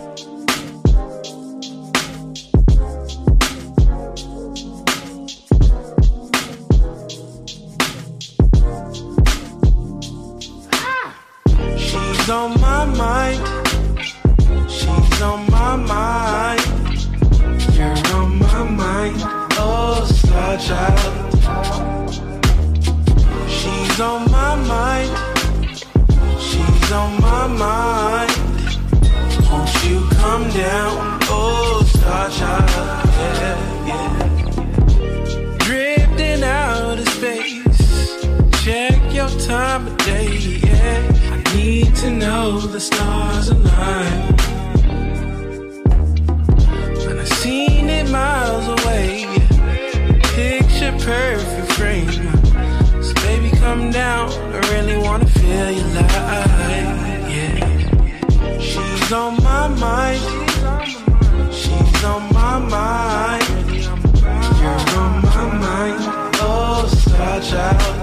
She's on my mind. She's on my mind. You're on my mind. Oh, Star Child. She's on my mind. She's on my mind. Won't you come down? Oh, Star Child. Yeah, yeah. Drifting out of space. Check your time of day. Yeah. Need to know the stars align. When I seen it miles away, picture perfect frame. So baby, come down. I really wanna feel your light. Yeah. She's on my mind. She's on my mind. You're on my mind. Oh, Star Child.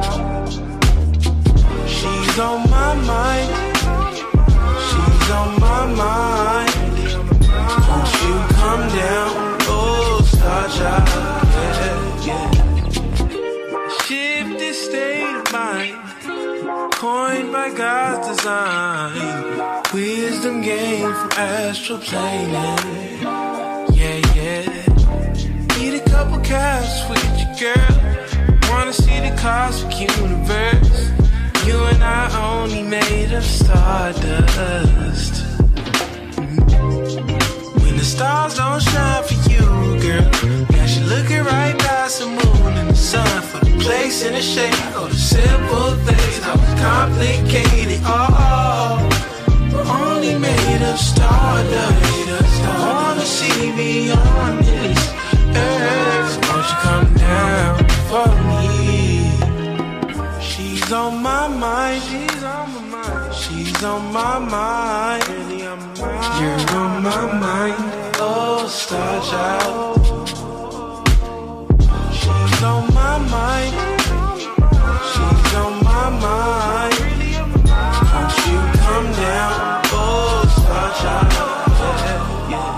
She's on my mind. She's on my mind. Won't you come down? Oh, Star Child. Yeah, yeah. Shifted state of mind, coined by God's design. Wisdom gained from astral planing. Yeah, yeah. Eat a couple caps with your girl. Wanna see the cosmic universe. You and I only made of stardust. When the stars don't shine for you, girl, now you're looking right past the moon and the sun for the place and the shape of the simple things. How complicated, oh, we're only made of stardust. I wanna see beyond this earth. So won't you come down for me? She's on my mind. She's on my mind. She's on my mind. You're on my mind. Oh, Star Child. She's on my mind. She's on my mind. Won't you come down? Oh, Star Child. Yeah, yeah.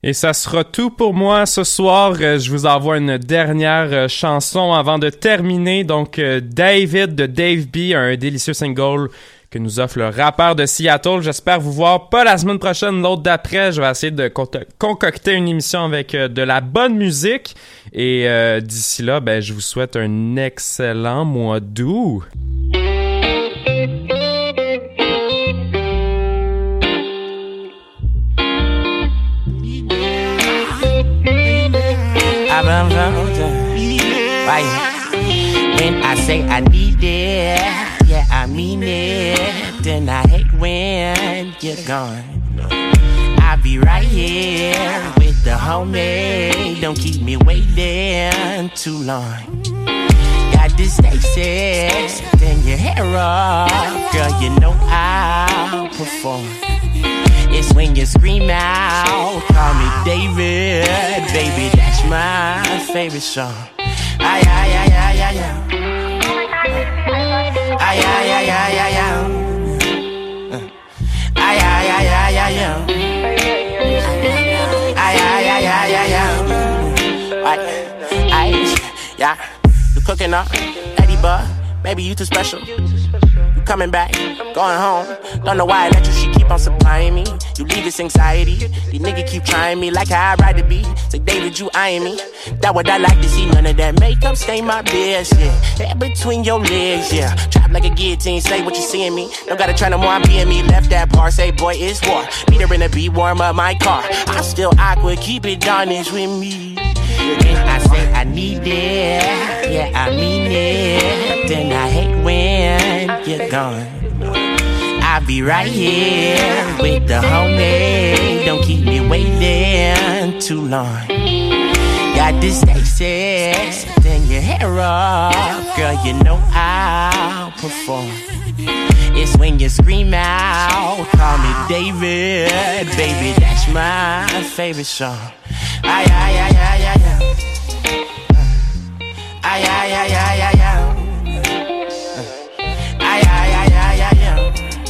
Et ça sera tout pour moi ce soir. Je vous envoie une dernière chanson avant de terminer. Donc, David de Dave B, un délicieux single que nous offre le rappeur de Seattle. J'espère vous voir pas la semaine prochaine, l'autre d'après. Je vais essayer de concocter une émission avec de la bonne musique. Et d'ici là, ben, je vous souhaite un excellent mois d'août. When I say I need it, yeah, I mean it. Then I hate when you're gone. I'll be right here with the homie. Don't keep me waiting too long. Got this sexy, then your hair off. Girl, you know I'll perform. It's when you scream out, call me David, baby, that's my favorite song. Ay, ay, ay, ay, ay, ay. Ay, ay, ay, ay, ay, ay. Ay, ay, ay, ay, ay, ay. Ay, ay, ay, ay, ay, ay. Ay, yeah. You cooking up, Eddie Bud, baby, you too special. Coming back, going home. Don't know why I let you, she keep on supplying me. You leave this anxiety. These niggas keep trying me like how I ride the beat. Say, David, you eyeing me. That what I like to see. None of that makeup stain my bitch, yeah. Hair between your legs, yeah. Trap like a guillotine, say what you seeing me. Don't gotta try no more, I'm being me. Left that part, say, boy, it's war. Meet her in the beat, warm up my car. I'm still awkward, keep it honest with me. When I say I need it, yeah, I mean it. Then I hate when you're gone. I'll be right here with the homie. Don't keep me waiting too long. Got this sexy, then your hair off. Girl, you know I'll perform. It's when you scream out, call me David, baby, that's my favorite song. Ay, ay, ay, ay, ay, ay. Ay, ay, ay, ay, ay, ay. Ay, ay, ay, ay, ay, ay.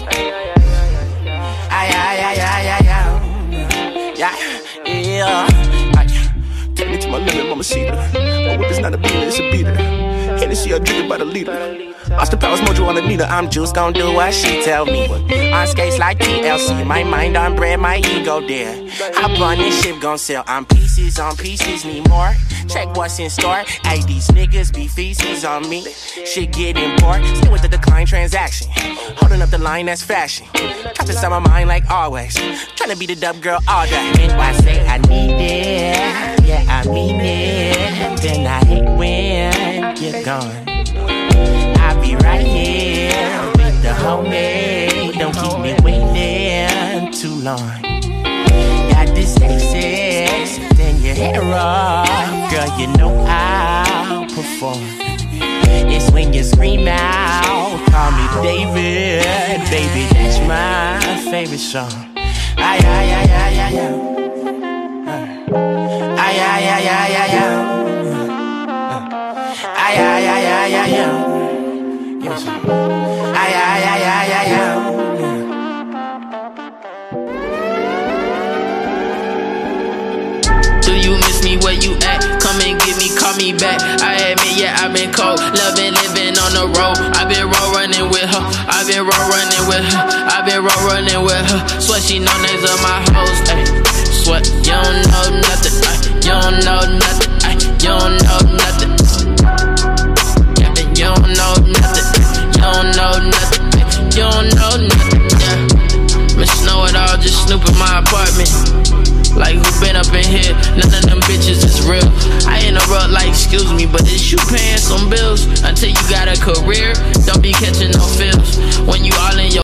Ay, ay, ay, ay, ay, ay. Yeah, yeah. Take me to my limit, mama cedar. My whip is not a beater, it's a beater. Hennessy, I drink it by the liter. Austin Powers, Mojo on Anita. I'm just gon' do what she tell me. On skates like TLC, my mind on bread, my ego there. Hop on this ship, gon' sell. I'm pieces on pieces, need more. Check what's in store. Ay, these niggas be feces on me. Shit getting bored. Still with the decline transaction. Holding up the line, that's fashion. Trapped inside my mind like always. Tryna be the dub girl all day. When I say I need it, yeah, I mean it. Then I hate when you're gone. I'll be right here with the homie. Don't keep me waiting too long. Got this sexy, then your hair off. Girl, you know I'll perform. It's when you scream out, call me David, baby, that's my favorite song. Ay, ay, ay, ay, ay, ay. Ay, ay, ay, ay, ay, ay. Ay, ay, ay, ay, ay, ay. Yes. Ay, ay, ay, ay, ay, ay. Do you miss me where you at? Come and get me, call me back. I admit, yeah, I've been cold. Loving, living on the road. I've been road running with her. I've been road running with her. I've been road running with her. Swear she know names of my hoes. Ay. Swear you don't know nothing. Ay. You don't know nothing. Ay. You don't know nothing. Yeah, you don't know nothing. You don't know nothing. You don't know nothing. Yeah, Miss Know It All just snoop in my apartment. Like who been up in here? None of them bitches is real. I interrupt like excuse me, but is you paying some bills? Until you got a career, don't be catching no